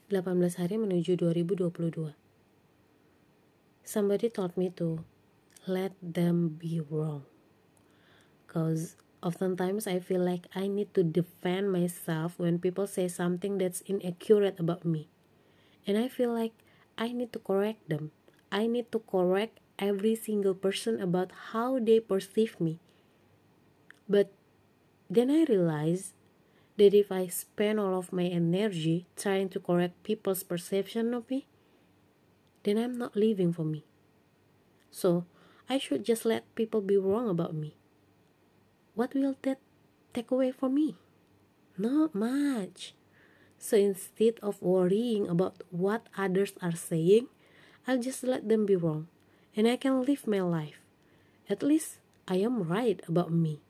18 hari menuju 2022. Somebody told me to let them be wrong. Cause oftentimes I feel like I need to defend myself when people say something that's inaccurate about me. And I feel like I need to correct them. I need to correct every single person about how they perceive me. But then I realized that if I spend all of my energy trying to correct people's perception of me, then I'm not living for me. So I should just let people be wrong about me. What will that take away from me? Not much. So instead of worrying about what others are saying, I'll just let them be wrong, and I can live my life. At least I am right about me.